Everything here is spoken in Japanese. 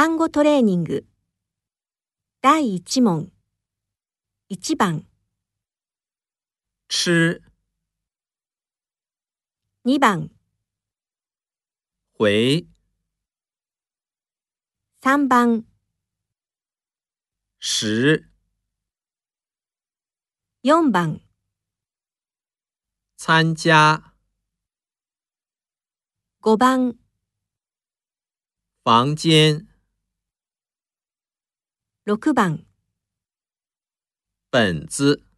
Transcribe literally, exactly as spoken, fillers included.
単語トレーニングだいいち問いち番吃に番回さん番十よん番参加ご番房间ろく番本子